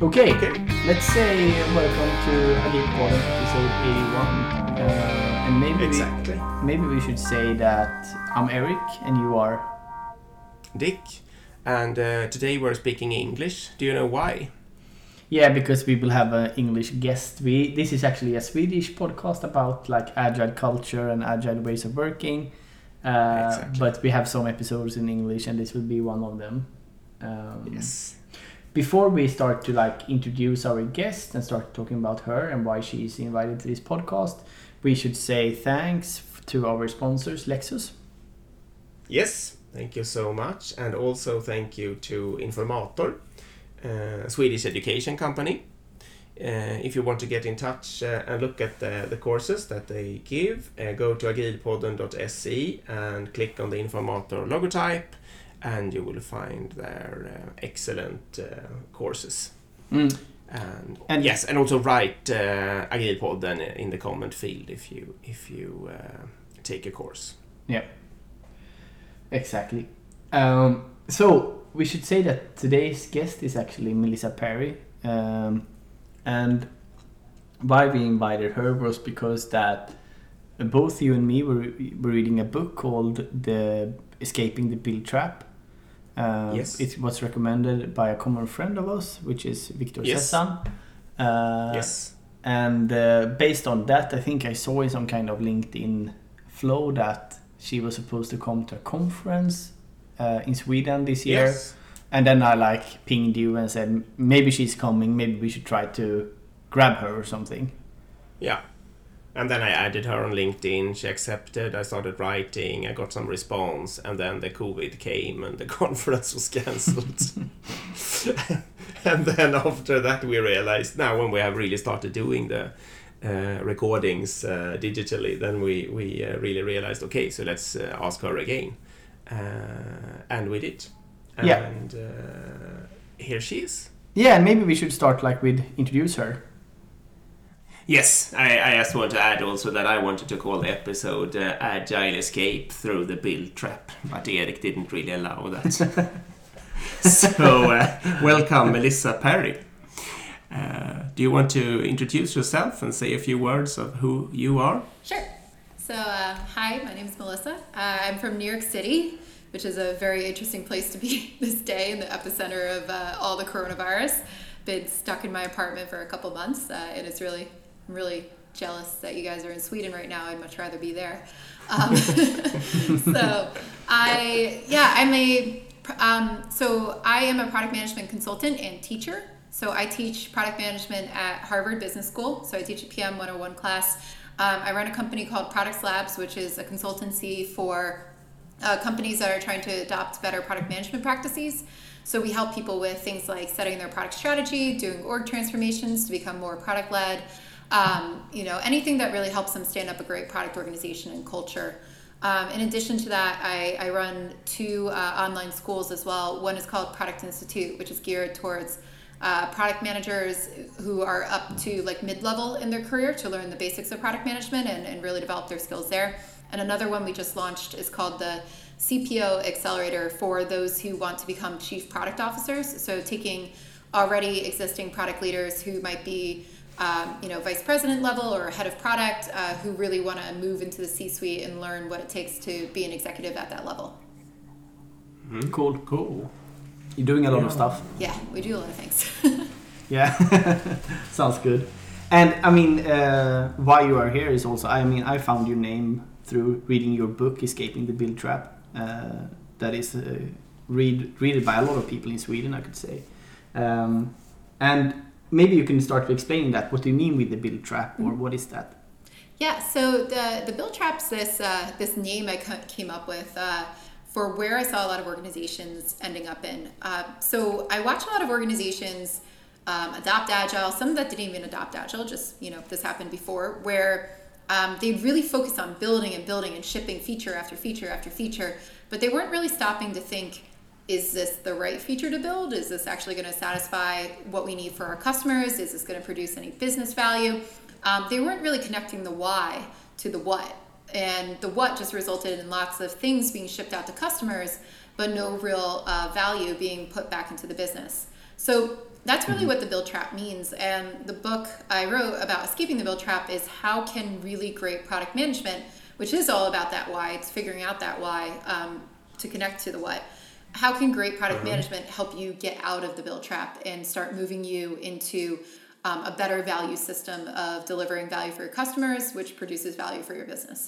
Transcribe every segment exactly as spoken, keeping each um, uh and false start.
Okay, Okay. let's say welcome to Agilpodden episode eighty-one. Uh, and maybe Exactly. we, maybe we should say that I'm Eric and you are. Dick. And uh, today we're speaking English. Do you know why? Yeah, because we will have an English guest. We this is actually a Swedish podcast about like agile culture and agile ways of working. Uh, Exactly. But we have some episodes in English, and this will be one of them. Um, Yes. Before we start to like introduce our guest and start talking about her and why she is invited to this podcast, we should say thanks to our sponsors, Lexus. Yes, thank you so much. And also thank you to Informator, a Swedish education company. Uh, if you want to get in touch uh, and look at the, the courses that they give, uh, go to agilpodden dot se and click on the Informator logotype, and you will find their uh, excellent uh, courses. Mm. And, And- yes, and also write uh, Agilpodden in the comment field if you if you uh, take a course. Yeah, exactly. Um, so we should say that today's guest is actually Melissa Perry. Um, and why we invited her was because that both you and me were, were reading a book called The Escaping the Build Trap. Uh, Yes. It was recommended by a common friend of us, which is Victor Yes. Sessan. Uh, Yes. And uh, based on that, I think I saw in some kind of LinkedIn flow that she was supposed to come to a conference uh, in Sweden this year. Yes. And then I like pinged you and said, maybe she's coming, maybe we should try to grab her or something. Yeah. And then I added her on LinkedIn. She accepted. I started writing. I got some response. And then the COVID came and the conference was cancelled. And then after that we realized, now when we have really started doing the uh, recordings uh, digitally, then we, we uh, really realized, okay, so let's uh, ask her again. Uh, and we did. Yeah. And uh, here she is. Yeah, and maybe we should start like with introduce her. Yes, I, I just want to add also that I wanted to call the episode uh, Agile Escape Through the Build Trap, but Erik didn't really allow that. So, uh, welcome Melissa Perry. Uh, do you want to introduce yourself and say a few words of who you are? Sure. So, uh, hi, my name is Melissa. Uh, I'm from New York City, which is a very interesting place to be this day in the epicenter of uh, all the coronavirus. Been stuck in my apartment for a couple months, uh, and it's really, I'm really jealous that you guys are in Sweden right now. I'd much rather be there. Um, so, I, yeah, I'm a, um, so I am a product management consultant and teacher. So I teach product management at Harvard Business School. So I teach a P M one oh one class. Um, I run a company called Products Labs, which is a consultancy for uh, companies that are trying to adopt better product management practices. So we help people with things like setting their product strategy, doing org transformations to become more product-led, um, you know, anything that really helps them stand up a great product organization and culture. Um, in addition to that, I, I run two uh, online schools as well. One is called Product Institute, which is geared towards uh, product managers who are up to like mid-level in their career to learn the basics of product management and, and really develop their skills there. And another one we just launched is called the C P O Accelerator for those who want to become chief product officers. So taking already existing product leaders who might be um, you know, vice president level or head of product uh, who really want to move into the C-suite and learn what it takes to be an executive at that level. Mm-hmm. Cool, cool. You're doing a lot of stuff. Yeah, we do a lot of things. Yeah, sounds good. And I mean, uh, why you are here is also, I mean, I found your name through reading your book, Escaping the Build Trap. Uh, that is uh, read read by a lot of people in Sweden, I could say. Um, and maybe you can start to explain that. What do you mean with the build trap, or what is that? Yeah, so the the build trap's this uh, this name I came up with uh, for where I saw a lot of organizations ending up in. Uh, so I watch a lot of organizations um, adopt Agile, some that didn't even adopt Agile, just, you know, this happened before, where um, they really focused on building and building and shipping feature after feature after feature, but they weren't really stopping to think, is this the right feature to build? Is this actually going to satisfy what we need for our customers? Is this going to produce any business value? Um, they weren't really connecting the why to the what. And the what just resulted in lots of things being shipped out to customers, but no real uh, value being put back into the business. So that's really what the build trap means. And the book I wrote about escaping the build trap is how can really great product management, which is all about that why, it's figuring out that why um, to connect to the what. How can great product uh-huh. management help you get out of the build trap and start moving you into um, a better value system of delivering value for your customers, which produces value for your business?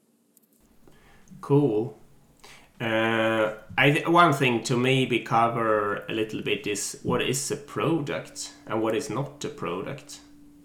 Cool. Uh, I th- one thing to maybe cover a little bit is what is a product and what is not a product.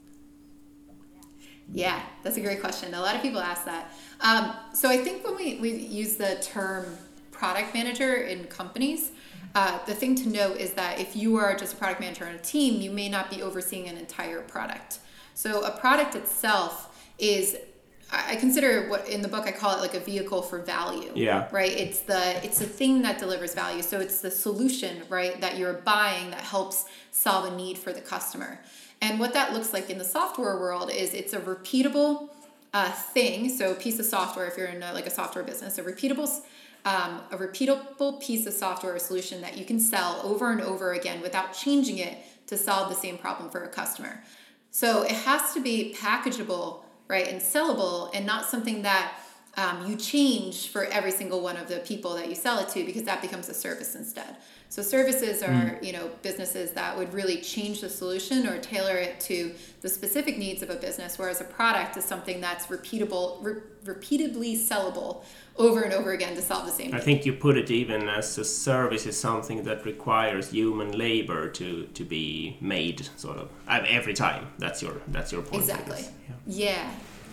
Yeah, that's a great question. A lot of people ask that. Um, so I think when we, we use the term product manager in companies, uh, the thing to note is that if you are just a product manager on a team, you may not be overseeing an entire product. So a product itself is, I consider what in the book I call it like a vehicle for value. Yeah. Right. It's the it's the thing that delivers value. So it's the solution, right, that you're buying that helps solve a need for the customer. And what that looks like in the software world is it's a repeatable uh, thing. So a piece of software, if you're in a, like a software business, a repeatable um, a repeatable piece of software or solution that you can sell over and over again without changing it to solve the same problem for a customer. So it has to be packageable, right, and sellable, and not something that um, you change for every single one of the people that you sell it to, because that becomes a service instead. So services are, mm. you know, businesses that would really change the solution or tailor it to the specific needs of a business, whereas a product is something that's repeatable, re- repeatedly sellable over and over again to solve the same I need. think you put it even as a service is something that requires human labor to, to be made, sort of, every time. That's your that's your point. Exactly. Yeah. yeah.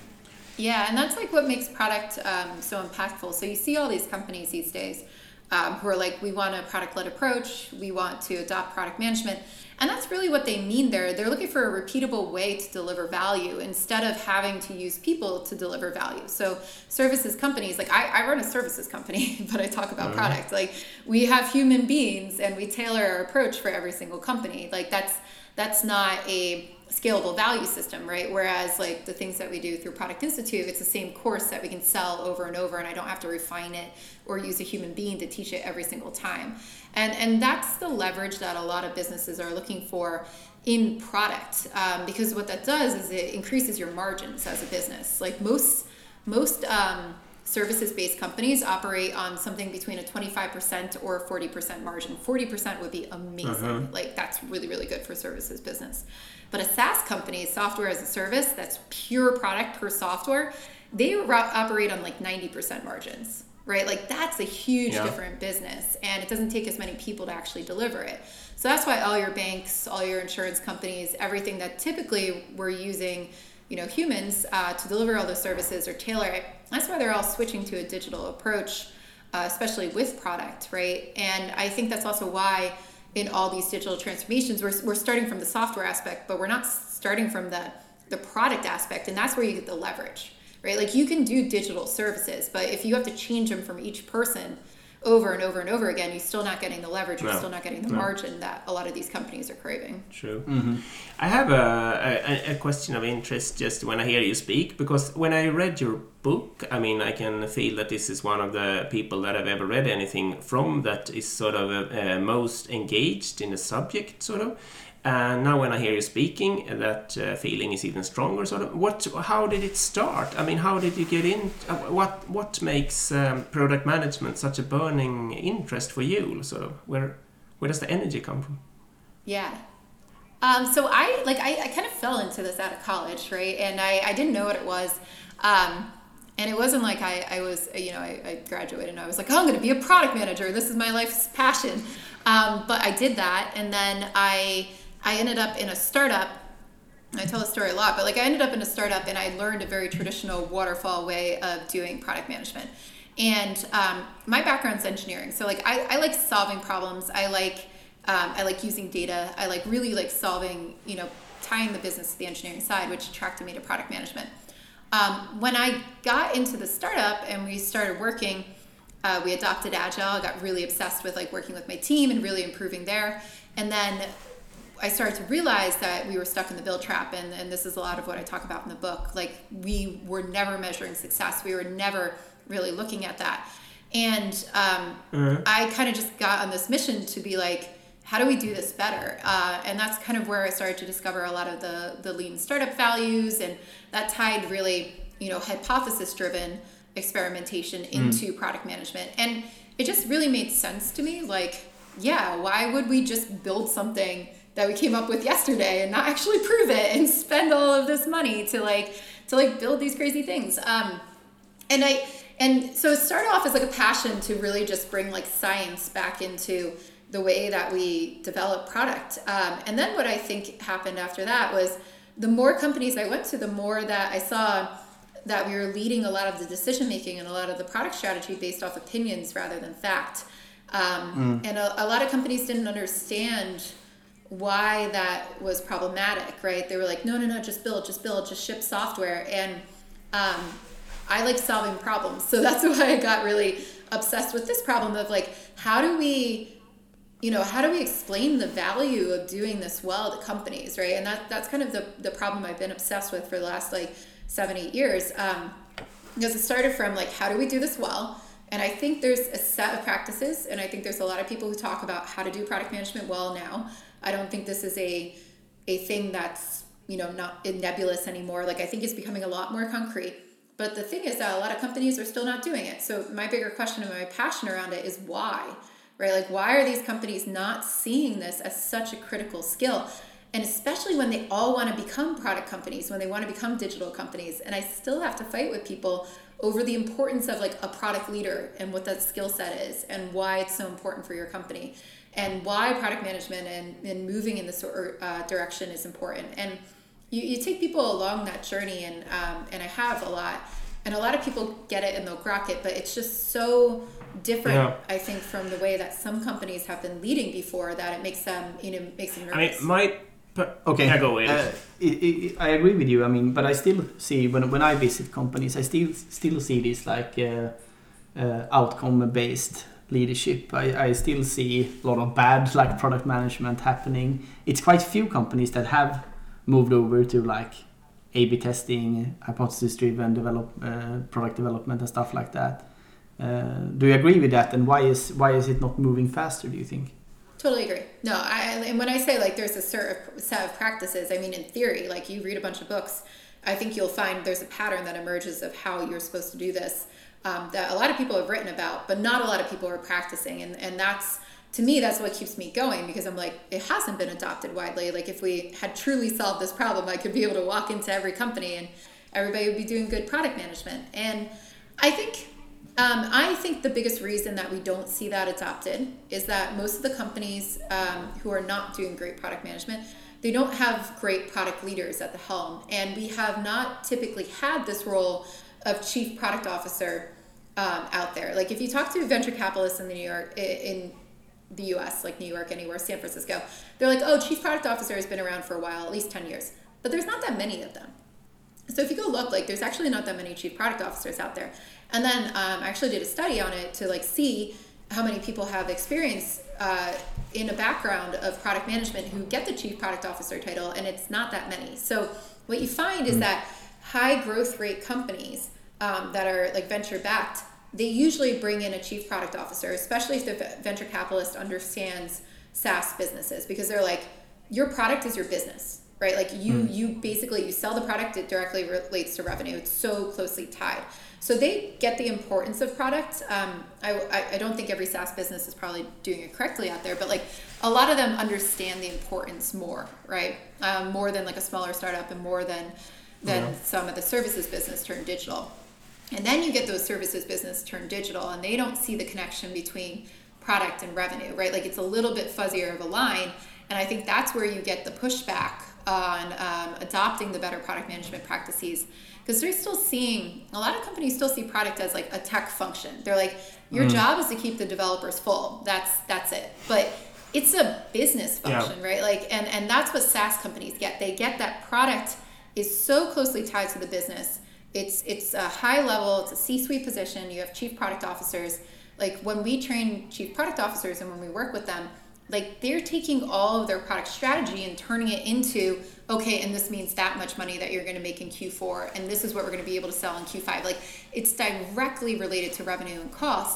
Yeah, and that's like what makes product um, so impactful. So you see all these companies these days um, who are like, we want a product-led approach, we want to adopt product management. And that's really what they mean there. They're looking for a repeatable way to deliver value instead of having to use people to deliver value. So services companies, like I, I run a services company, but I talk about mm-hmm. product. Like we have human beings and we tailor our approach for every single company. Like that's that's not a scalable value system, right? Whereas like the things that we do through Product Institute, it's the same course that we can sell over and over, and I don't have to refine it or use a human being to teach it every single time. And and that's the leverage that a lot of businesses are looking for in product, um, because what that does is it increases your margins as a business. Like most most um, services-based companies operate on something between a twenty-five percent or a forty percent margin. forty percent would be amazing. Uh-huh. Like that's really, really good for services business. But a SaaS company, software as a service, that's pure product per software, they ro- operate on like ninety percent margins, right? Like that's a huge yeah. different business, and it doesn't take as many people to actually deliver it. So that's why all your banks, all your insurance companies, everything that typically we're using, you know, humans uh, to deliver all those services or tailor it, that's why they're all switching to a digital approach, uh, especially with product, right? And I think that's also why in all these digital transformations, we're, we're starting from the software aspect, but we're not starting from the, the product aspect, and that's where you get the leverage, right? Like you can do digital services, but if you have to change them from each person over and over and over again, you're still not getting the leverage, you're no. still not getting the no. margin that a lot of these companies are craving. True. Mm-hmm. I have a, a, a question of interest just when I hear you speak, because when I read your book, I mean, I can feel that this is one of the people that I've ever read anything from that is sort of uh, most engaged in the subject, sort of. And now when I hear you speaking, that uh, feeling is even stronger, sort of. What? How did it start? I mean, how did you get in? Uh, what What makes um, product management such a burning interest for you? Sort of. Where Where does the energy come from? Yeah. Um, so I like I, I kind of fell into this out of college, right? And I, I didn't know what it was. Um, and it wasn't like I, I was, you know, I, I graduated and I was like, oh, I'm going to be a product manager. This is my life's passion. Um, but I did that. And then I... I ended up in a startup. I tell the story a lot, but like I ended up in a startup and I learned a very traditional waterfall way of doing product management. And um, my background's engineering, so like I, I like solving problems. I like um, I like using data. I like really like solving, you know, tying the business to the engineering side, which attracted me to product management. Um, when I got into the startup and we started working, uh, we adopted Agile. I got really obsessed with like working with my team and really improving there. And then I started to realize that we were stuck in the build trap, and, and this is a lot of what I talk about in the book. Like we were never measuring success. We were never really looking at that. And um, mm-hmm. I kind of just got on this mission to be like, how do we do this better? Uh, and that's kind of where I started to discover a lot of the, the lean startup values, and that tied really, you know, hypothesis-driven experimentation into mm. product management. And it just really made sense to me. Like, yeah, why would we just build something that we came up with yesterday and not actually prove it and spend all of this money to like to like build these crazy things? Um, and I and so it started off as like a passion to really just bring like science back into the way that we develop product. Um, and then what I think happened after that was the more companies I went to, the more that I saw that we were leading a lot of the decision making and a lot of the product strategy based off opinions rather than fact. Um, mm. And a, a lot of companies didn't understand why that was problematic, right? They were like, no, no, no, just build, just build, just ship software. And um, I like solving problems. So that's why I got really obsessed with this problem of like, how do we, you know, how do we explain the value of doing this well to companies, right? And that that's kind of the, the problem I've been obsessed with for the last like seven, eight years. Um, because it started from like, how do we do this well? And I think there's a set of practices, and I think there's a lot of people who talk about how to do product management well now. I don't think this is a a thing that's, you know, not nebulous anymore. Like, I think it's becoming a lot more concrete. But the thing is that a lot of companies are still not doing it. So my bigger question and my passion around it is why, right? Like, why are these companies not seeing this as such a critical skill? And especially when they all want to become product companies, when they want to become digital companies. And I still have to fight with people over the importance of like a product leader and what that skill set is and why it's so important for your company and why product management and, and moving in this uh, direction is important. And you, you take people along that journey, and um, and I have a lot, and a lot of people get it and they'll grok it, but it's just so different, yeah. I think, from the way that some companies have been leading before, that it makes them, you know, makes them nervous. I mean, my But, okay, yeah, go uh, it, it, I agree with you. I mean, but I still see when when I visit companies, I still still see this like uh, uh, outcome-based leadership. I, I still see a lot of bad like product management happening. It's quite few companies that have moved over to like A B testing, hypothesis-driven develop uh, product development and stuff like that. Uh, do you agree with that? And why is why is it not moving faster, do you think? Totally agree. No, I, and when I say like there's a certain set of practices, I mean in theory, like you read a bunch of books, I think you'll find there's a pattern that emerges of how you're supposed to do this um, that a lot of people have written about, but not a lot of people are practicing. And, and that's, to me, that's what keeps me going, because I'm like, it hasn't been adopted widely. Like if we had truly solved this problem, I could be able to walk into every company and everybody would be doing good product management. And I think Um, I think the biggest reason that we don't see that adopted is that most of the companies um, who are not doing great product management, they don't have great product leaders at the helm. And we have not typically had this role of chief product officer um, out there. Like if you talk to venture capitalists in the New York, in the U S, like New York, anywhere, San Francisco, they're like, oh, chief product officer has been around for a while, at least ten years. But there's not that many of them. So if you go look, like there's actually not that many chief product officers out there. And then um, I actually did a study on it to like see how many people have experience uh, in a background of product management who get the chief product officer title, and it's not that many. So what you find is that high growth rate companies um, that are like venture backed, they usually bring in a chief product officer, especially if the venture capitalist understands SaaS businesses, because they're like, your product is your business. Right, like you, mm. you basically you sell the product. It directly relates to revenue. It's so closely tied. So they get the importance of product. Um, I, I, I don't think every SaaS business is probably doing it correctly out there, but like a lot of them understand the importance more, right? Um, more than like a smaller startup, and more than than yeah. some of the services business turned digital. And then you get those services business turned digital, and they don't see the connection between product and revenue, right? Like it's a little bit fuzzier of a line, and I think that's where you get the pushback on um, adopting the better product management practices, because they're still seeing, a lot of companies still see product as like a tech function. They're like, your mm. job is to keep the developers full. That's that's it. But it's a business function, yeah. right? Like, and, and that's what SaaS companies get. They get that product is so closely tied to the business. It's it's a high level, it's a C-suite position. You have chief product officers. Like when we train chief product officers and when we work with them, like they're taking all of their product strategy and turning it into, okay, and this means that much money that you're going to make in Q four, and this is what we're going to be able to sell in Q five. Like it's directly related to revenue and cost.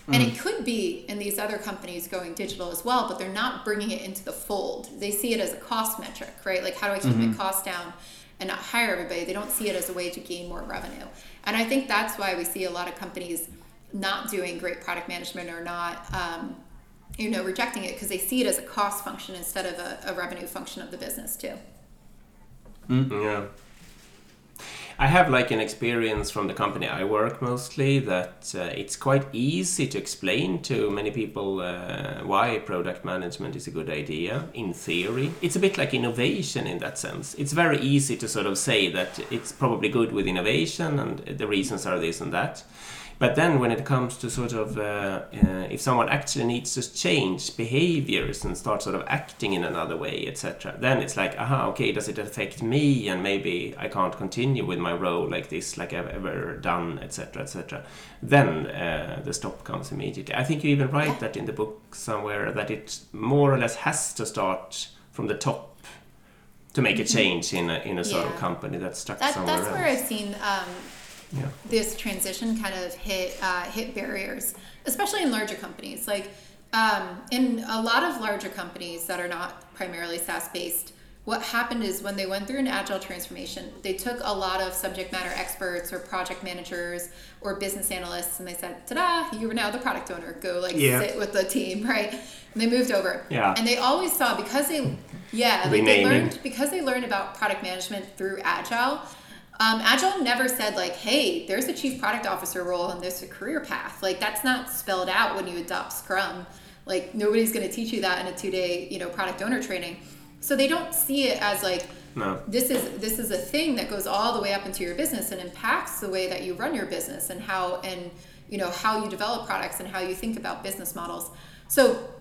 And it could be in these other companies going digital as well, but they're not bringing it into the fold. They see it as a cost metric, right? Like, how do I keep Mm-hmm. my costs down and not hire everybody? They don't see it as a way to gain more revenue. And I think that's why we see a lot of companies not doing great product management or not, um, you know, rejecting it, because they see it as a cost function instead of a, a revenue function of the business too. Yeah. I have like an experience from the company I work mostly that uh, it's quite easy to explain to many people uh, why product management is a good idea in theory. It's a bit like innovation in that sense. It's very easy to sort of say that it's probably good with innovation and the reasons are this and that. But then when it comes to sort of, uh, uh, if someone actually needs to change behaviors and start sort of acting in another way, et cetera, then it's like, aha, okay, does it affect me? And maybe I can't continue with my role like this, like I've ever done, et cetera, et cetera. Then uh, the stop comes immediately. I think you even write that in the book somewhere, that it more or less has to start from the top to make a change in a, in a sort Yeah. of company that's stuck That, somewhere that's else. where I've seen um, Yeah. this transition kind of hit uh, hit barriers, especially in larger companies. Like um, in a lot of larger companies that are not primarily SaaS based, what happened is when they went through an agile transformation, they took a lot of subject matter experts or project managers or business analysts, and they said, "Ta-da! You are now the product owner. Go like Yeah. sit with the team, right?" And they moved over. Yeah. And they always saw, because they yeah like they Renaming. learned because they learned about product management through agile. Um, Agile never said like, hey, there's a chief product officer role and there's a career path. Like, that's not spelled out when you adopt Scrum. Like, nobody's going to teach you that in a two-day, you know, product owner training. So they don't see it as like, No. this is this is a thing that goes all the way up into your business and impacts the way that you run your business and how and you know how you develop products and how you think about business models. So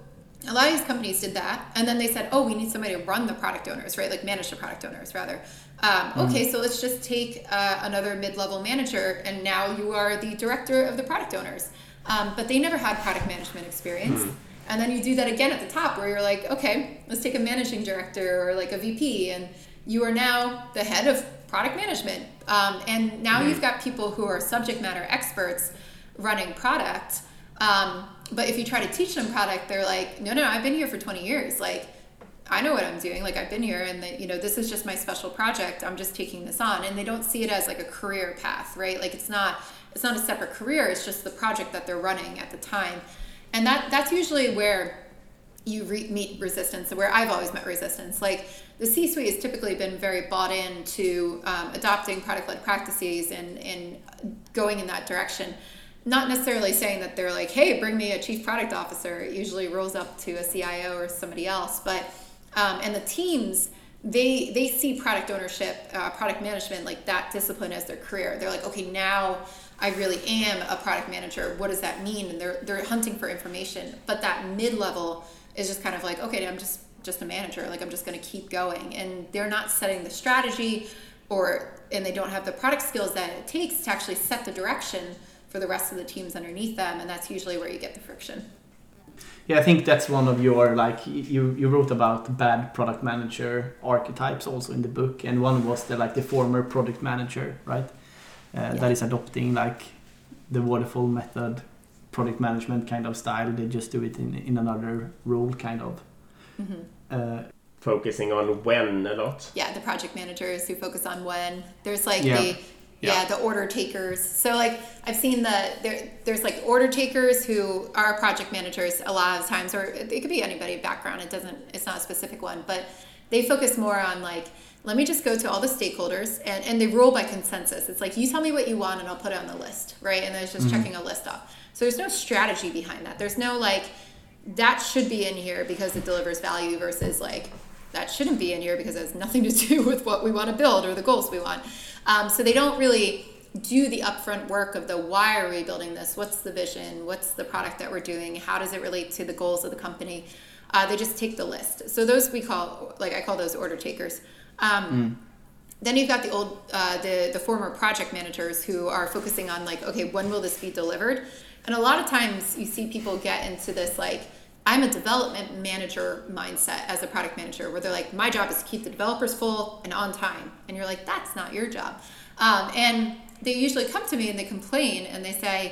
a lot of these companies did that, and then they said, oh, we need somebody to run the product owners, right? Like manage the product owners, rather. Um, okay, so let's just take uh, another mid-level manager, and now you are the director of the product owners. Um, but they never had product management experience. Mm. And then you do that again at the top, where you're like, okay, let's take a managing director or like a V P, and you are now the head of product management. Um, and now mm. you've got people who are subject matter experts running product. Um, but if you try to teach them product, they're like, no, no, I've been here for twenty years. Like, I know what I'm doing. Like, I've been here, and the, you know, this is just my special project. I'm just taking this on. And they don't see it as like a career path, right? Like, it's not, it's not a separate career. It's just the project that they're running at the time. And that, that's usually where you re- meet resistance, where I've always met resistance. Like, the C-suite has typically been very bought into um, adopting product-led practices and, and going in that direction. Not necessarily saying that they're like, hey, bring me a chief product officer. It usually rolls up to a C I O or somebody else. But um, and the teams, they they see product ownership, uh, product management, like that discipline as their career. They're like, okay, now I really am a product manager. What does that mean? And they're they're hunting for information. But that mid-level is just kind of like, okay, I'm just just a manager. Like, I'm just going to keep going. And they're not setting the strategy, or and they don't have the product skills that it takes to actually set the direction for the rest of the teams underneath them, and that's usually where you get the friction. Yeah, I think that's one of your, like, you you wrote about bad product manager archetypes also in the book, and one was the like the former product manager, right? Uh, yeah. That is adopting like the waterfall method, product management kind of style. They just do it in in another role, kind of. Mm-hmm. Uh, Focusing on when a lot. Yeah, the project managers who focus on when. There's like yeah. the Yeah, yeah, the order takers. So like I've seen the there there's like order takers who are project managers a lot of times, or it could be anybody background. It doesn't it's not a specific one, but they focus more on like, let me just go to all the stakeholders and, and they rule by consensus. It's like, you tell me what you want and I'll put it on the list, right? And then it's just mm-hmm. checking a list off. So there's no strategy behind that. There's no like, that should be in here because it delivers value versus like, that shouldn't be in here because it has nothing to do with what we want to build or the goals we want. Um, so they don't really do the upfront work of the why are we building this? What's the vision? What's the product that we're doing? How does it relate to the goals of the company? Uh, they just take the list. So those we call, like I call those order takers. Um, mm. Then you've got the old, uh, the, the former project managers who are focusing on like, okay, when will this be delivered? And a lot of times you see people get into this like, I'm a development manager mindset as a product manager, where they're like, my job is to keep the developers full and on time. And you're like, that's not your job. Um, and they usually come to me and they complain and they say,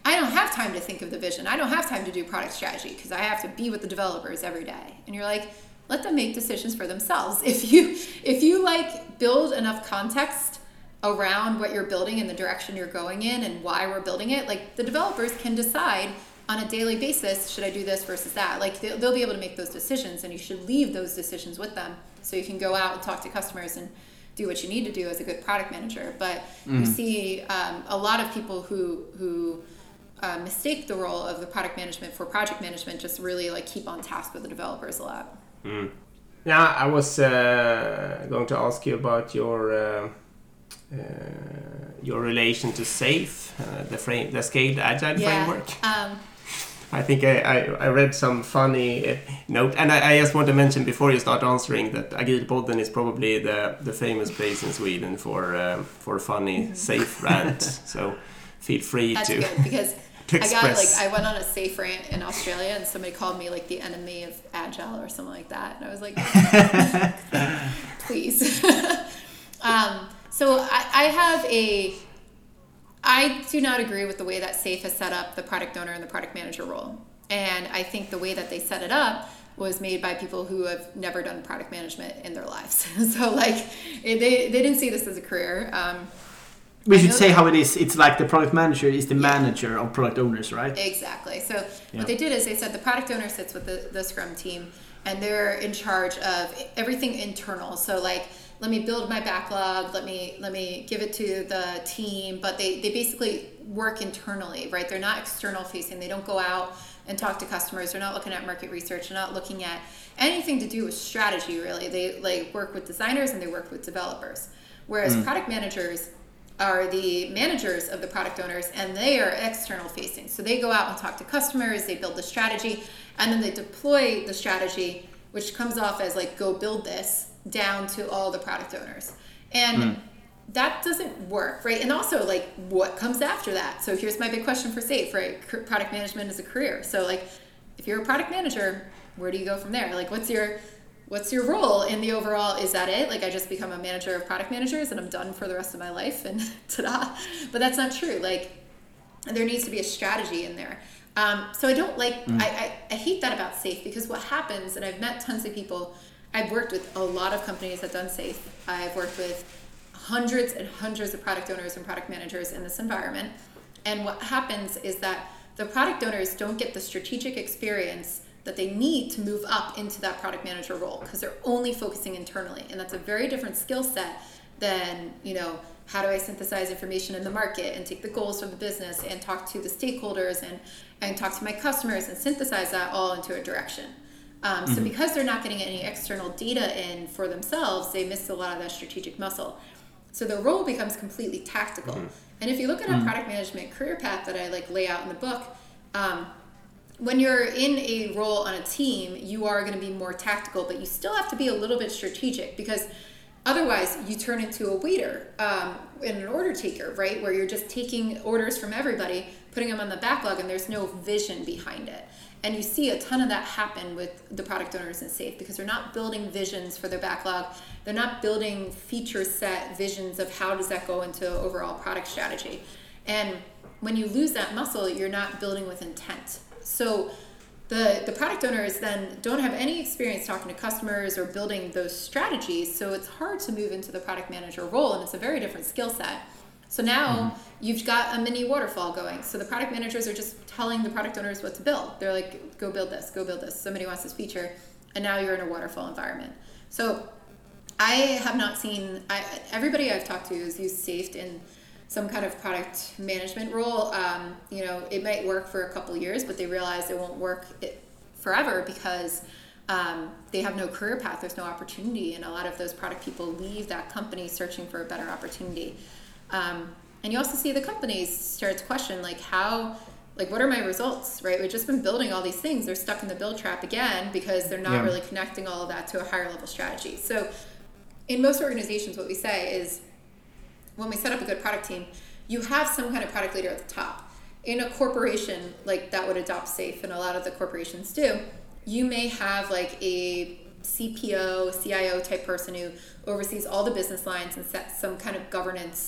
I don't have time to think of the vision. I don't have time to do product strategy because I have to be with the developers every day. And you're like, let them make decisions for themselves. If you if you like build enough context around what you're building and the direction you're going in and why we're building it, like the developers can decide on a daily basis, should I do this versus that? Like they'll, they'll be able to make those decisions, and you should leave those decisions with them so you can go out and talk to customers and do what you need to do as a good product manager. But mm. you see um, a lot of people who who uh, mistake the role of the product management for project management, just really like keep on task with the developers a lot. Mm. Yeah, I was uh, going to ask you about your uh, uh, your relation to SAFe, uh, the frame, the scaled agile yeah. framework. Um, I think I, I, I read some funny uh, note, and I, I just want to mention before you start answering that Agilpodden is probably the, the famous place in Sweden for um, for funny mm-hmm. SAFe rants. So feel free That's to. That's good because to I got like I went on a SAFe rant in Australia, and somebody called me like the enemy of agile or something like that, and I was like, please. um, so I, I have a. I do not agree with the way that SAFe has set up the product owner and the product manager role. And I think the way that they set it up was made by people who have never done product management in their lives. So like they, they didn't see this as a career. Um, we should say how it is. It's like the product manager is the yeah. manager of product owners, right? Exactly. So yeah. what they did is they said the product owner sits with the, the Scrum team, and they're in charge of everything internal. So like, let me build my backlog, let me let me give it to the team, but they, they basically work internally, right? They're not external facing. They don't go out and talk to customers. They're not looking at market research. They're not looking at anything to do with strategy, really. They like work with designers and they work with developers. Whereas mm. product managers are the managers of the product owners, and they are external facing. So they go out and talk to customers, they build the strategy, and then they deploy the strategy, which comes off as like, go build this, down to all the product owners. And mm. that doesn't work, right? And also like what comes after that? So here's my big question for SAFe, right? C- product management is a career. So like if you're a product manager, where do you go from there? Like what's your what's your role in the overall? Is that it? Like I just become a manager of product managers and I'm done for the rest of my life and ta-da. But that's not true. Like there needs to be a strategy in there. Um, so I don't like, mm. I, I, I hate that about SAFe, because what happens, and I've met tons of people, I've worked with a lot of companies that done SAFe. I've worked with hundreds and hundreds of product owners and product managers in this environment. And what happens is that the product owners don't get the strategic experience that they need to move up into that product manager role, because they're only focusing internally. And that's a very different skill set than, you know, how do I synthesize information in the market and take the goals from the business and talk to the stakeholders and, and talk to my customers and synthesize that all into a direction. Um, so mm-hmm. because they're not getting any external data in for themselves, they miss a lot of that strategic muscle. So the role becomes completely tactical. Mm-hmm. And if you look at a mm-hmm. product management career path that I like lay out in the book, um, when you're in a role on a team, you are going to be more tactical, but you still have to be a little bit strategic, because otherwise you turn into a waiter um, and an order taker, right? Where you're just taking orders from everybody, putting them on the backlog, and there's no vision behind it. And you see a ton of that happen with the product owners in SAFe, because they're not building visions for their backlog. They're not building feature set visions of how does that go into overall product strategy. And when you lose that muscle, you're not building with intent. So the, the product owners then don't have any experience talking to customers or building those strategies. So it's hard to move into the product manager role, and it's a very different skill set. So now mm-hmm. you've got a mini waterfall going. So the product managers are just telling the product owners what to build. They're like, go build this, go build this. Somebody wants this feature. And now you're in a waterfall environment. So I have not seen, I, everybody I've talked to has used SAFe in some kind of product management role. Um, you know, it might work for a couple years, but they realize it won't work it forever, because um, they have no career path. There's no opportunity. And a lot of those product people leave that company searching for a better opportunity. Um, and you also see the companies start to question, like, how, like, what are my results, right? We've just been building all these things. They're stuck in the build trap again, because they're not yeah. really connecting all of that to a higher level strategy. So in most organizations, what we say is, when we set up a good product team, you have some kind of product leader at the top. In a corporation, like, that would adopt SAFe, and a lot of the corporations do, you may have like a C P O, C I O type person who oversees all the business lines and sets some kind of governance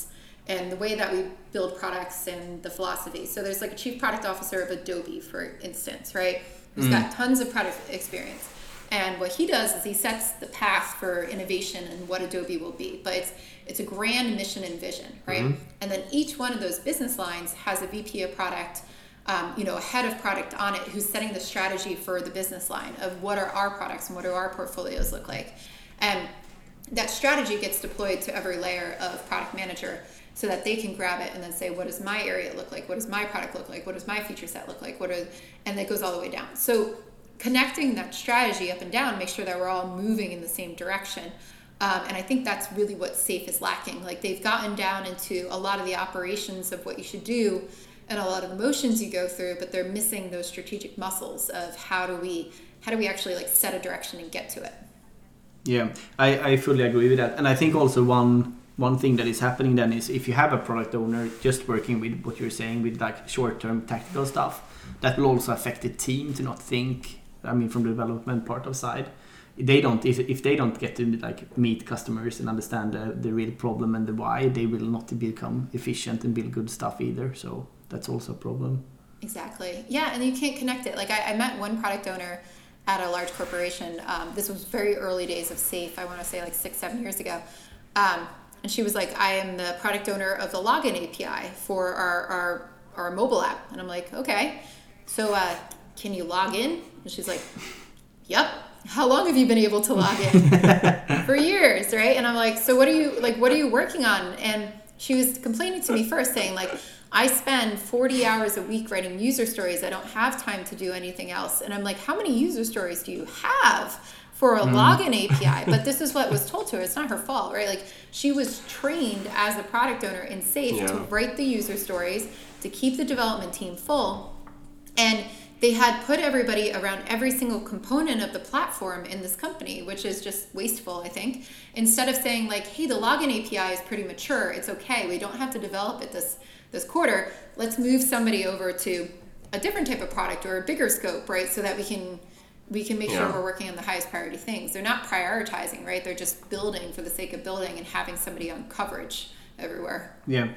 and the way that we build products and the philosophy. So there's like a chief product officer of Adobe, for instance, right? Who's mm. got tons of product experience. And what he does is he sets the path for innovation and what Adobe will be. But it's it's a grand mission and vision, right? Mm-hmm. And then each one of those business lines has a V P of product, um, you know, a head of product on it who's setting the strategy for the business line of what are our products and what do our portfolios look like. And that strategy gets deployed to every layer of product manager so that they can grab it and then say, what does my area look like? What does my product look like? What does my feature set look like? What are, and it goes all the way down. So connecting that strategy up and down, make sure that we're all moving in the same direction. Um, and I think that's really what SAFe is lacking. Like they've gotten down into a lot of the operations of what you should do and a lot of the motions you go through, but they're missing those strategic muscles of how do we, how do we actually like set a direction and get to it? Yeah, I, I fully agree with that. And I think also one one thing that is happening then is if you have a product owner just working with what you're saying with like short-term tactical stuff, that will also affect the team to not think, I mean, from the development part of side. They don't, if, if they don't get to like meet customers and understand the, the real problem and the why, they will not become efficient and build good stuff either. So that's also a problem. Exactly. Yeah, and you can't connect it. Like I, I met one product owner at a large corporation. Um, this was very early days of SAFe. I want to say like six, seven years ago. Um, and she was like, I am the product owner of the login A P I for our, our, our mobile app. And I'm like, okay, so uh, can you log in? And she's like, yep. How long have you been able to log in? For years, right? And I'm like, so what are you, like, what are you working on? And she was complaining to me first saying like, I spend forty hours a week writing user stories. I don't have time to do anything else. And I'm like, how many user stories do you have for a mm. login A P I? But this is what was told to her. It's not her fault, right? Like she was trained as a product owner in SAFe yeah. to write the user stories, to keep the development team full. And they had put everybody around every single component of the platform in this company, which is just wasteful, I think. Instead of saying like, hey, the login A P I is pretty mature. It's okay. We don't have to develop it this this quarter. Let's move somebody over to a different type of product or a bigger scope, right? So that we can we can make yeah. sure we're working on the highest priority things. They're not prioritizing, right? They're just building for the sake of building and having somebody on coverage everywhere. Yeah.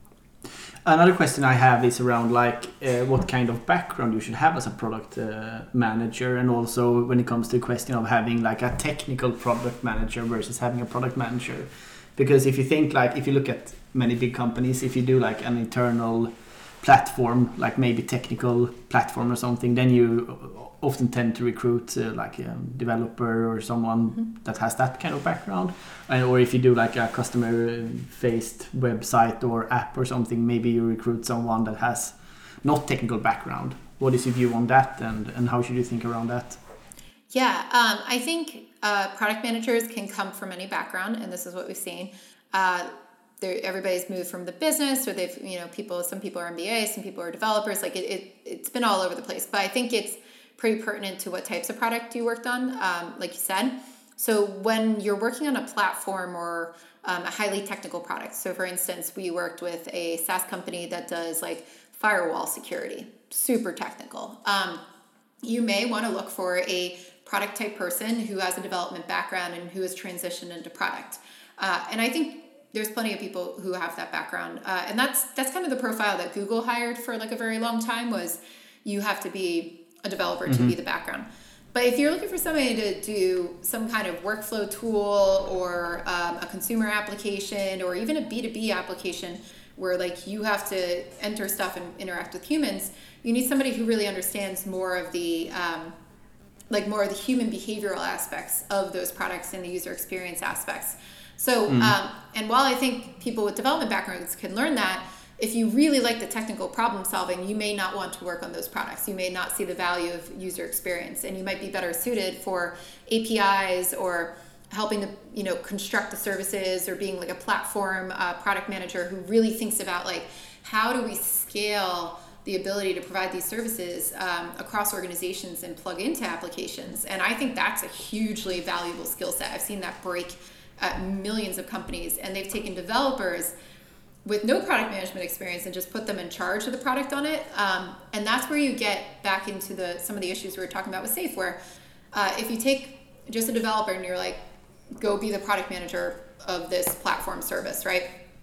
Another question I have is around like uh, what kind of background you should have as a product uh, manager, and also when it comes to the question of having like a technical product manager versus having a product manager. Because if you think like, if you look at many big companies, if you do like an internal platform, like maybe technical platform or something, then you often tend to recruit uh, like a developer or someone mm-hmm. that has that kind of background. And, or if you do like a customer-faced website or app or something, maybe you recruit someone that has not technical background. What is your view on that, and, and how should you think around that? Yeah, um, I think uh, product managers can come from any background, and this is what we've seen. Uh, everybody's moved from the business, or they've, you know, people, some people are M B As, some people are developers. Like it, it, it's been all over the place. But I think it's pretty pertinent to what types of product you worked on, um, like you said. So when you're working on a platform or um, a highly technical product, so for instance, we worked with a SaaS company that does like firewall security, super technical. Um, you may want to look for a product type person who has a development background and who has transitioned into product. Uh, and I think there's plenty of people who have that background. Uh, and that's that's kind of the profile that Google hired for like a very long time, was you have to be a developer mm-hmm. to be the background. But if you're looking for somebody to do some kind of workflow tool or um, a consumer application or even a B two B application where like you have to enter stuff and interact with humans, you need somebody who really understands more of the um, like more of the human behavioral aspects of those products and the user experience aspects. So, mm. um, and while I think people with development backgrounds can learn that, if you really like the technical problem solving, you may not want to work on those products. You may not see the value of user experience, and you might be better suited for A P Is or helping to, you know, construct the services, or being like a platform uh, product manager who really thinks about like, how do we scale the ability to provide these services um, across organizations and plug into applications. And I think that's a hugely valuable skill set. I've seen that break at millions of companies, and they've taken developers with no product management experience and just put them in charge of the product on it. Um, and that's where you get back into the some of the issues we were talking about with SAFe, where uh, if you take just a developer and you're like, go be the product manager of this platform service, right?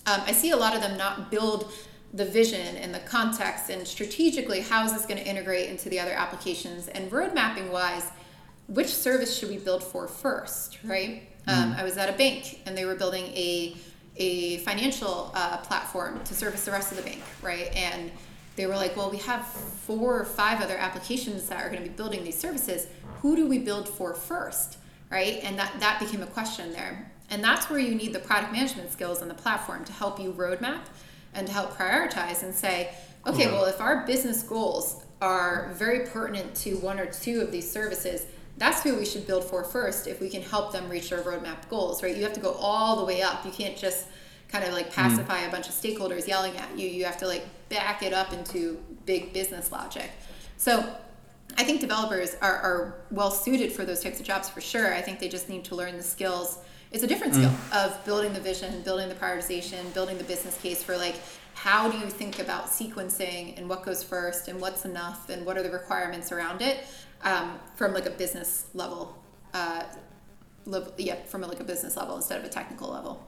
um, I see a lot of them not build the vision and the context and strategically how is this going to integrate into the other applications, and road mapping wise, which service should we build for first, right? Mm. Um, I was at a bank and they were building a a financial uh, platform to service the rest of the bank, right? And they were like, well, we have four or five other applications that are going to be building these services. Who do we build for first, right? And that, that became a question there. And that's where you need the product management skills on the platform to help you roadmap and to help prioritize and say, okay, well, if our business goals are very pertinent to one or two of these services, that's who we should build for first if we can help them reach their roadmap goals, right? You have to go all the way up. You can't just kind of like pacify mm. a bunch of stakeholders yelling at you. You have to like back it up into big business logic. So I think developers are, are well suited for those types of jobs for sure. I think they just need to learn the skills. It's a different skill mm. of building the vision, building the prioritization, building the business case for like, how do you think about sequencing and what goes first and what's enough and what are the requirements around it, um, from like a business level, uh, level, yeah, from a, like a business level instead of a technical level.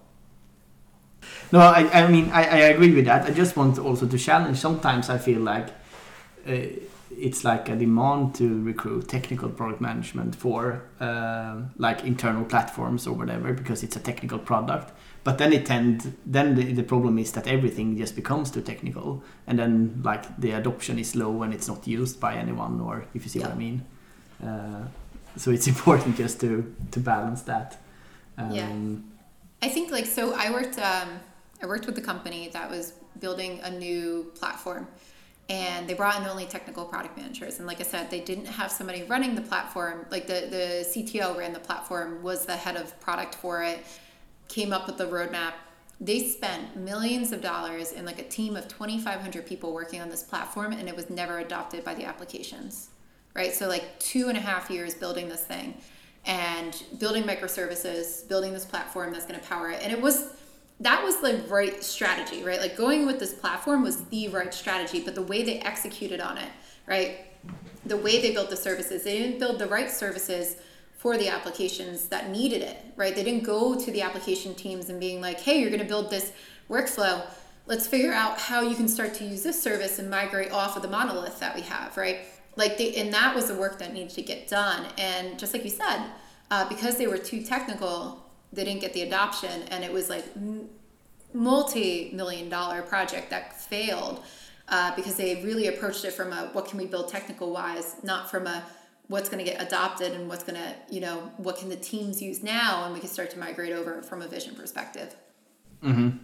No, I, I mean, I, I agree with that. I just want also to challenge. Sometimes I feel like uh, it's like a demand to recruit technical product management for uh, like internal platforms or whatever, because it's a technical product. But then it tend, then the, the problem is that everything just becomes too technical, and then like the adoption is low and it's not used by anyone, or if you see yeah. what I mean. Uh, so it's important just to to balance that. Um, yeah. I think like so. I worked. Um, I worked with a company that was building a new platform, and they brought in only technical product managers. And like I said, they didn't have somebody running the platform. Like the the C T O ran the platform, was the head of product for it, came up with the roadmap. They spent millions of dollars in like a team of twenty-five hundred people working on this platform, and it was never adopted by the applications, right? So like two and a half years building this thing and building microservices, building this platform that's going to power it. And it was, that was the right strategy, right? Like going with this platform was the right strategy, but the way they executed on it, right? The way they built the services, they didn't build the right services for the applications that needed it, right? They didn't go to the application teams and being like, hey, you're going to build this workflow. Let's figure out how you can start to use this service and migrate off of the monolith that we have, right? Like, they, and that was the work that needed to get done. And just like you said, uh, because they were too technical, they didn't get the adoption, and it was like multi-million dollar project that failed uh, because they really approached it from a, what can we build technical wise, not from a, what's going to get adopted and what's going to, you know, what can the teams use now, and we can start to migrate over from a vision perspective. Mm-hmm.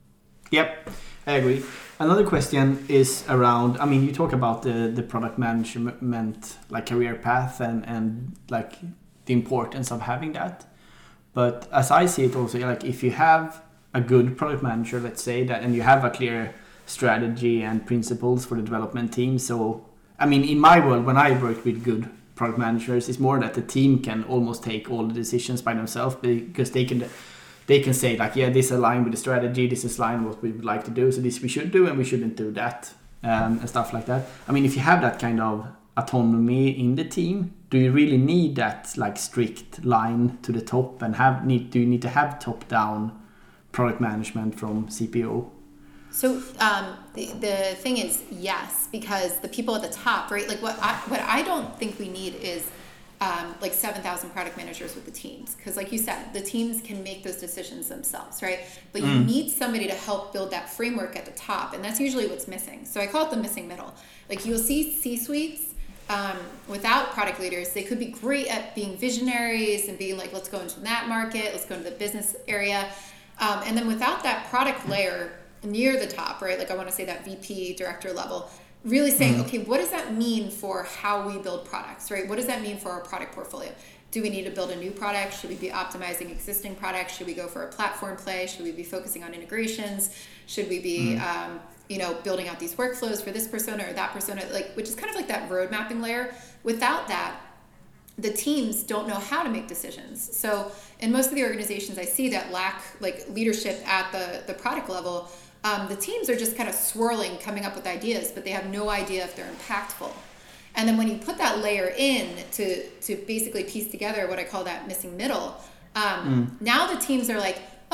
Yep, I agree. Another question is around, I mean, you talk about the, the product management, like career path and, and like the importance of having that. But as I see it also, like if you have a good product manager, let's say that, and you have a clear strategy and principles for the development team. So, I mean, in my world, when I work with good product managers, it's more that the team can almost take all the decisions by themselves, because they can they can say like, yeah, this align with the strategy, this is line what we would like to do, so this we should do and we shouldn't do that, um, and stuff like that. I mean, if you have that kind of autonomy in the team, do you really need that like strict line to the top, and have need do you need to have top down product management from C P O? So um, the the thing is, yes, because the people at the top, right? Like what I, what I don't think we need is um, like seven thousand product managers with the teams, because like you said, the teams can make those decisions themselves, right? But you mm. need somebody to help build that framework at the top, and that's usually what's missing. So I call it the missing middle. Like you'll see C-suites um, without product leaders. They could be great at being visionaries and being like, let's go into that market, let's go into the business area, um, and then without that product layer near the top, right? Like I want to say that V P, director level, really saying, mm-hmm. okay, what does that mean for how we build products, right? What does that mean for our product portfolio? Do we need to build a new product? Should we be optimizing existing products? Should we go for a platform play? Should we be focusing on integrations? Should we be, mm-hmm. um, you know, building out these workflows for this persona or that persona? Like, which is kind of like that road mapping layer. Without that, the teams don't know how to make decisions. So in most of the organizations I see that lack like leadership at the, the product level, Um, the teams are just kind of swirling, coming up with ideas, but they have no idea if they're impactful. And then when you put that layer in to to basically piece together what I call that missing middle, um, mm. now the teams are like,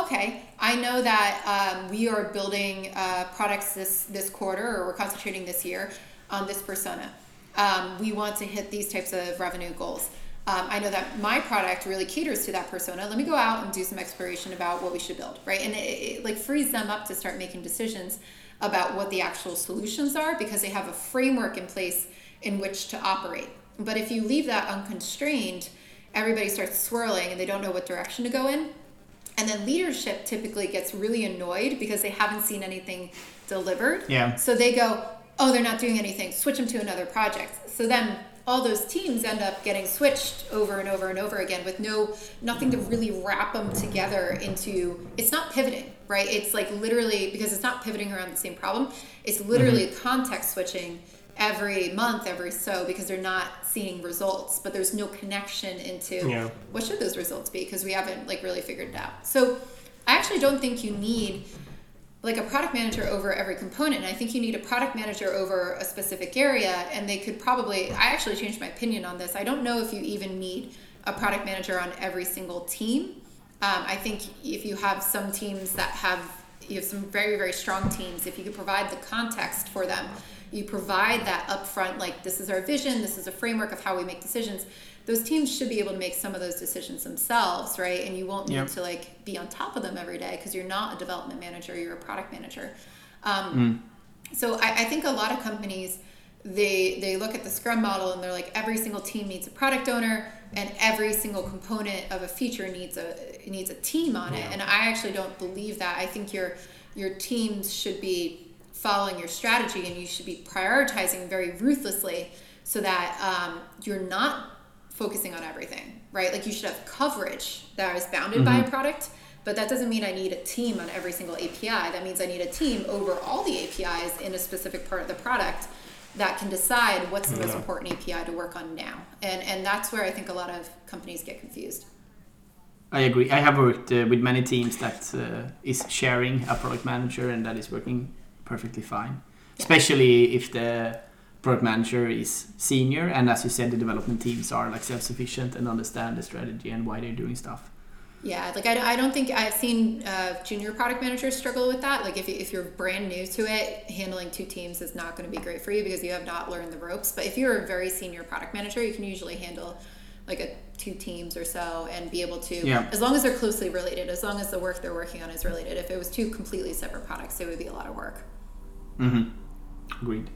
okay, I know that um, we are building uh, products this, this quarter, or we're concentrating this year on this persona. Um, we want to hit these types of revenue goals. Um, I know that my product really caters to that persona. Let me go out and do some exploration about what we should build, right? And it, it like frees them up to start making decisions about what the actual solutions are, because they have a framework in place in which to operate. But if you leave that unconstrained, everybody starts swirling and they don't know what direction to go in. And then leadership typically gets really annoyed because they haven't seen anything delivered. Yeah. So they go, oh, they're not doing anything, switch them to another project. So then all those teams end up getting switched over and over and over again with no nothing to really wrap them together into. It's not pivoting, right? It's like literally, because it's not pivoting around the same problem, it's literally mm-hmm. context switching every month, every so, because they're not seeing results, but there's no connection into yeah. what should those results be, because we haven't like really figured it out. So I actually don't think you need like a product manager over every component. I think you need a product manager over a specific area, and they could probably, I actually changed my opinion on this. I don't know if you even need a product manager on every single team. Um, I think if you have some teams that have, you have some very, very strong teams, if you could provide the context for them, you provide that upfront, like this is our vision, this is a framework of how we make decisions, those teams should be able to make some of those decisions themselves, right? And you won't need yep. to like be on top of them every day, because you're not a development manager, you're a product manager. Um, mm. So I, I think a lot of companies, they they look at the Scrum model and they're like, every single team needs a product owner, and every single component of a feature needs a needs a team on yeah. it. And I actually don't believe that. I think your your teams should be following your strategy, and you should be prioritizing very ruthlessly so that um, you're not focusing on everything, right? Like you should have coverage that is bounded mm-hmm. by a product, but that doesn't mean I need a team on every single A P I. That means I need a team over all the A P Is in a specific part of the product that can decide what's the yeah. most important A P I to work on now. And and that's where I think a lot of companies get confused. I agree. I have worked uh, with many teams that uh, is sharing a product manager, and that is working perfectly fine. Yeah. Especially if the product manager is senior, and as you said, the development teams are like self-sufficient and understand the strategy and why they're doing stuff. Yeah, like I, I don't think I've seen uh, junior product managers struggle with that. Like if, you, if you're brand new to it, handling two teams is not going to be great for you because you have not learned the ropes. But if you're a very senior product manager, you can usually handle like a two teams or so and be able to, yeah. as long as they're closely related, as long as the work they're working on is related. If it was two completely separate products, it would be a lot of work. Mm-hmm. Agreed.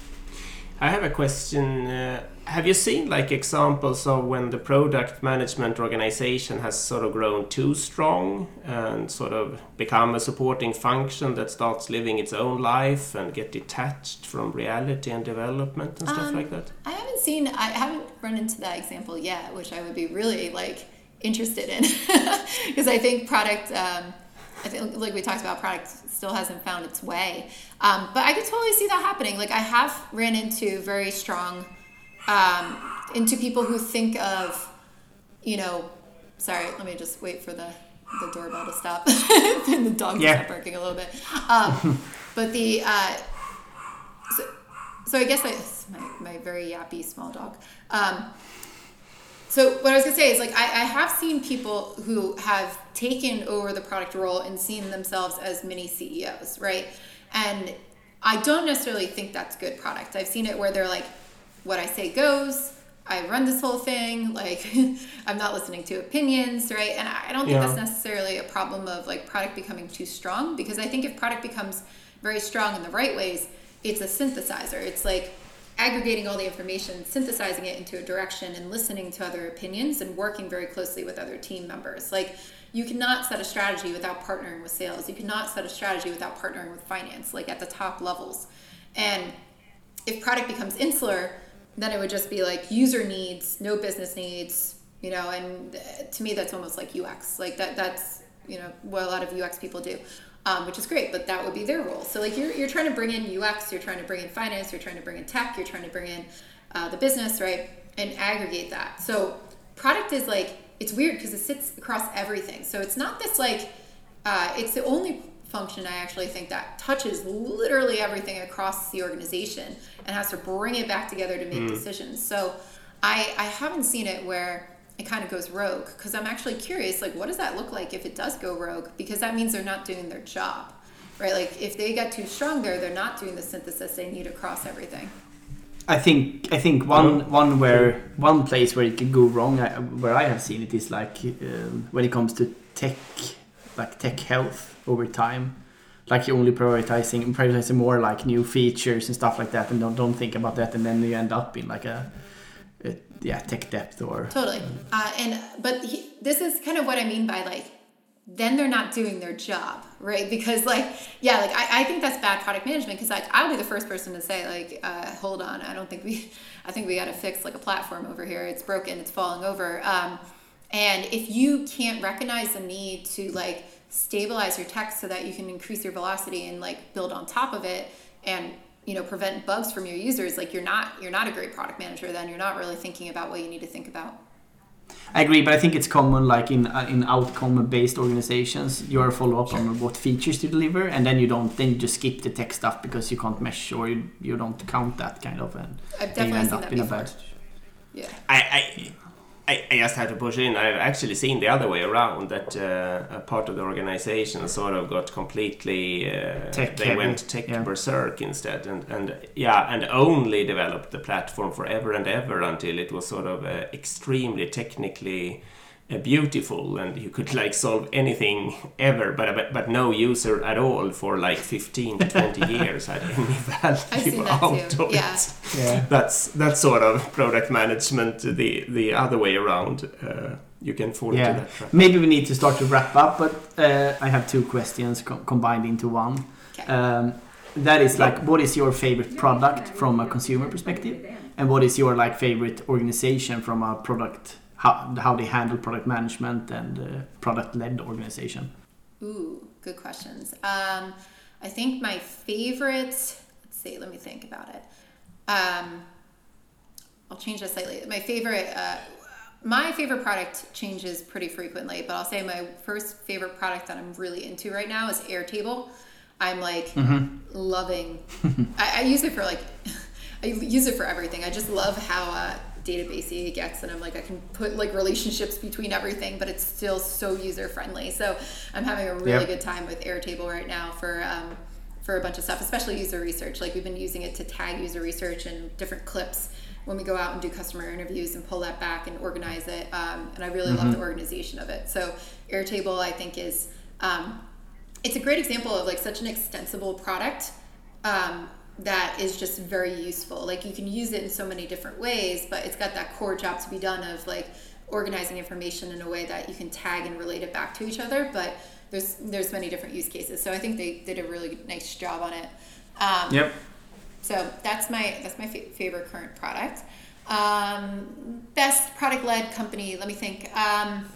I have a question. Uh, have you seen like examples of when the product management organization has sort of grown too strong and sort of become a supporting function that starts living its own life and get detached from reality and development and stuff um, like that? I haven't seen, I haven't run into that example yet, which I would be really like interested in because I think product, um, I think like we talked about, product still hasn't found its way. Um, but I could totally see that happening. Like I have ran into very strong, um, into people who think of, you know, sorry, let me just wait for the, the doorbell to stop. And the dog yeah. stop barking a little bit. Um, but the, uh, so, so I guess I, my, my very yappy small dog. Um, So what I was gonna say is like I, I have seen people who have taken over the product role and seen themselves as mini C E Os, right? And I don't necessarily think that's good product. I've seen it where they're like, what I say goes, I run this whole thing, like I'm not listening to opinions, right? And I don't think yeah. that's necessarily a problem of like product becoming too strong, because I think if product becomes very strong in the right ways, it's a synthesizer. It's like aggregating all the information, synthesizing it into a direction, and listening to other opinions and working very closely with other team members. Like you cannot set a strategy without partnering with sales. You cannot set a strategy without partnering with finance, like at the top levels. And if product becomes insular, then it would just be like user needs, no business needs, you know, and to me that's almost like U X. Like that that's, you know, what a lot of U X people do. Um, which is great, but that would be their role. So like you're you're trying to bring in U X, you're trying to bring in finance, you're trying to bring in tech, you're trying to bring in uh, the business, right? And aggregate that. So product is like, it's weird because it sits across everything. So it's not this like, uh, it's the only function I actually think that touches literally everything across the organization and has to bring it back together to make mm. decisions. So I, I haven't seen it where it kind of goes rogue, because I'm actually curious, like, what does that look like if it does go rogue? Because that means they're not doing their job, right? Like, if they get too strong there, they're not doing the synthesis they need across everything. I think I think one one where one place where it could go wrong, I, where I have seen it, is like um, when it comes to tech, like tech health over time. Like you're only prioritizing prioritizing more like new features and stuff like that, and don't don't think about that, and then you end up in like a, a yeah tech debt or totally. Uh, and but he, this is kind of what I mean by like, then they're not doing their job, right? Because like yeah, like I, I think that's bad product management, because like I'll be the first person to say like uh, hold on, I don't think we I think we got to fix like a platform over here. It's broken. It's falling over. Um, and if you can't recognize the need to like stabilize your tech so that you can increase your velocity and like build on top of it and you know prevent bugs from your users, like you're not you're not a great product manager. Then you're not really thinking about what you need to think about. I agree, but I think it's common like in uh, in outcome based organizations, you are follow up on what features to deliver, and then you don't then you just skip the tech stuff because you can't measure or you, you don't count that kind of, and I've then you definitely end seen up that in a before. bad. Yeah. I, I, I I just have to push in. I've actually seen the other way around, that uh, a part of the organization sort of got completely uh, Tech they heavy. went tech Yeah. berserk instead, and and yeah, and only developed the platform forever and ever until it was sort of uh, extremely technically uh, beautiful, and you could like solve anything ever, but but, but no user at all for like fifteen to twenty years had any I've seen value that out too. of Yeah. it. Yeah. That's that's sort of product management the the other way around. Uh, you can fall Yeah. into that trap. Maybe we need to start to wrap up, but uh, I have two questions co- combined into one. Okay. Um, that is like, what is your favorite product from a consumer perspective, and what is your like favorite organization from a product, how how they handle product management and uh, product-led organization? Ooh, good questions. Um, I think my favorite, let's see, let me think about it. Um, I'll change that slightly. My favorite, uh, my favorite product changes pretty frequently, but I'll say my first favorite product that I'm really into right now is Airtable. I'm like Mm-hmm. loving, I, I use it for like, I use it for everything. I just love how uh, databasey it gets, and I'm like, I can put like relationships between everything, but it's still so user friendly. So I'm having a really Yep. good time with Airtable right now for um, for a bunch of stuff, especially user research. Like we've been using it to tag user research and different clips when we go out and do customer interviews and pull that back and organize it. Um, and I really love the organization of it. So Airtable, I think, is um, it's a great example of like such an extensible product um, that is just very useful. Like you can use it in so many different ways, but it's got that core job to be done of like organizing information in a way that you can tag and relate it back to each other. But there's there's many different use cases. So I think they did a really nice job on it. Um, Yep. So that's my that's my fa- favorite current product. Um, best product-led company. Let me think. Um,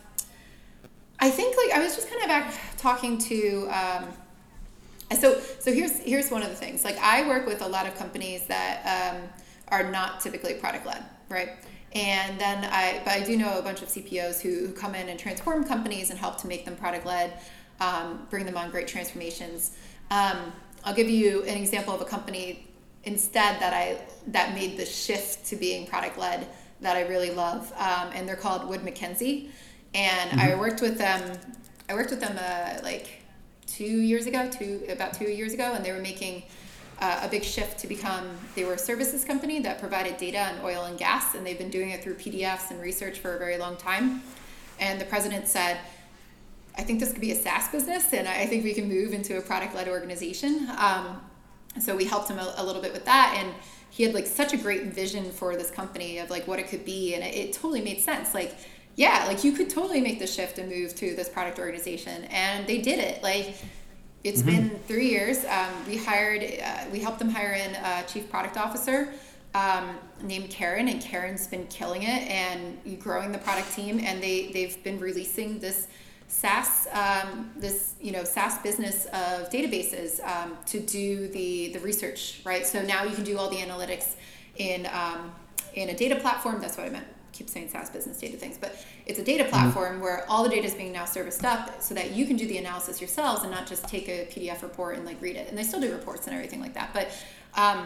I think like I was just kind of back talking to. Um, so so here's here's one of the things. Like I work with a lot of companies that um, are not typically product-led, right? And then I but I do know a bunch of C P Os who, who come in and transform companies and help to make them product-led, um, bring them on great transformations. Um, I'll give you an example of a company instead that I that made the shift to being product led that I really love, um, and they're called Wood Mackenzie, and mm-hmm. I worked with them. I worked with them uh, like two years ago, two about two years ago, and they were making uh, a big shift to become. They were a services company that provided data on oil and gas, and they've been doing it through P D Fs and research for a very long time. And the president said, I think this could be a SaaS business, and I think we can move into a product-led organization. Um, so we helped him a, a little bit with that, and he had like such a great vision for this company of like what it could be, and it, it totally made sense. Like, yeah, like you could totally make the shift and move to this product organization, and they did it. Like, it's mm-hmm. been three years. Um, we hired, uh, we helped them hire in a chief product officer um, named Karen, and Karen's been killing it and growing the product team, and they they've been releasing this SaaS, um, this you know SaaS business of databases um, to do the the research, right? So now you can do all the analytics in um, in a data platform. That's what I meant. I keep saying SaaS business data things, but it's a data platform mm-hmm. where all the data is being now serviced up, so that you can do the analysis yourselves and not just take a P D F report and like read it. And they still do reports and everything like that, but um,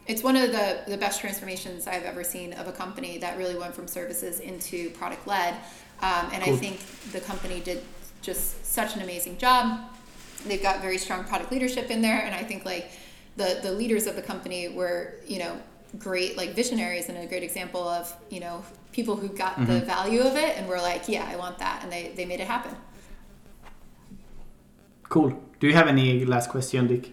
it's one of the, the best transformations I've ever seen of a company that really went from services into product led. Um, and cool. I think the company did just such an amazing job. They've got very strong product leadership in there. And I think like the, the leaders of the company were, you know, great like visionaries and a great example of, you know, people who got mm-hmm. the value of it and were like, yeah, I want that. And they, they made it happen. Cool. Do you have any last question, Dick?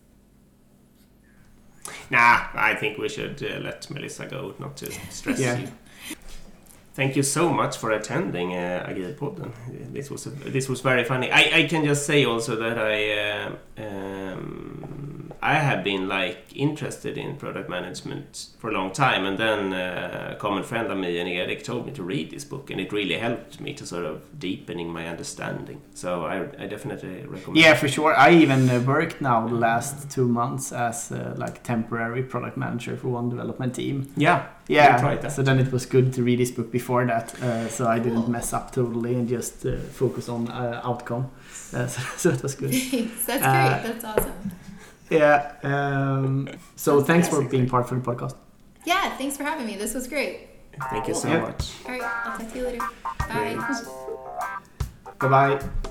Nah, I think we should uh, let Melissa go, not to stress yeah. you. Thank you so much for attending uh, Agilpodden. This was a, this was very funny. I, I can just say also that I uh, um, I have been like interested in product management for a long time, and then uh, a common friend of me and Erik told me to read this book, and it really helped me to sort of deepening my understanding. So I, I definitely recommend. Yeah, for sure. I even uh, worked now the last two months as uh, like temporary product manager for one development team. Yeah. Yeah, so then it was good to read this book before that, uh, so I didn't mess up totally and just uh, focus on uh, outcome. Uh, so, so that was good. Thanks. That's uh, great. That's awesome. Yeah. Um, so That's thanks for being part of the podcast. Yeah, thanks for having me. This was great. Thank you so yeah. much. All right, I'll talk to you later. Bye. Bye bye.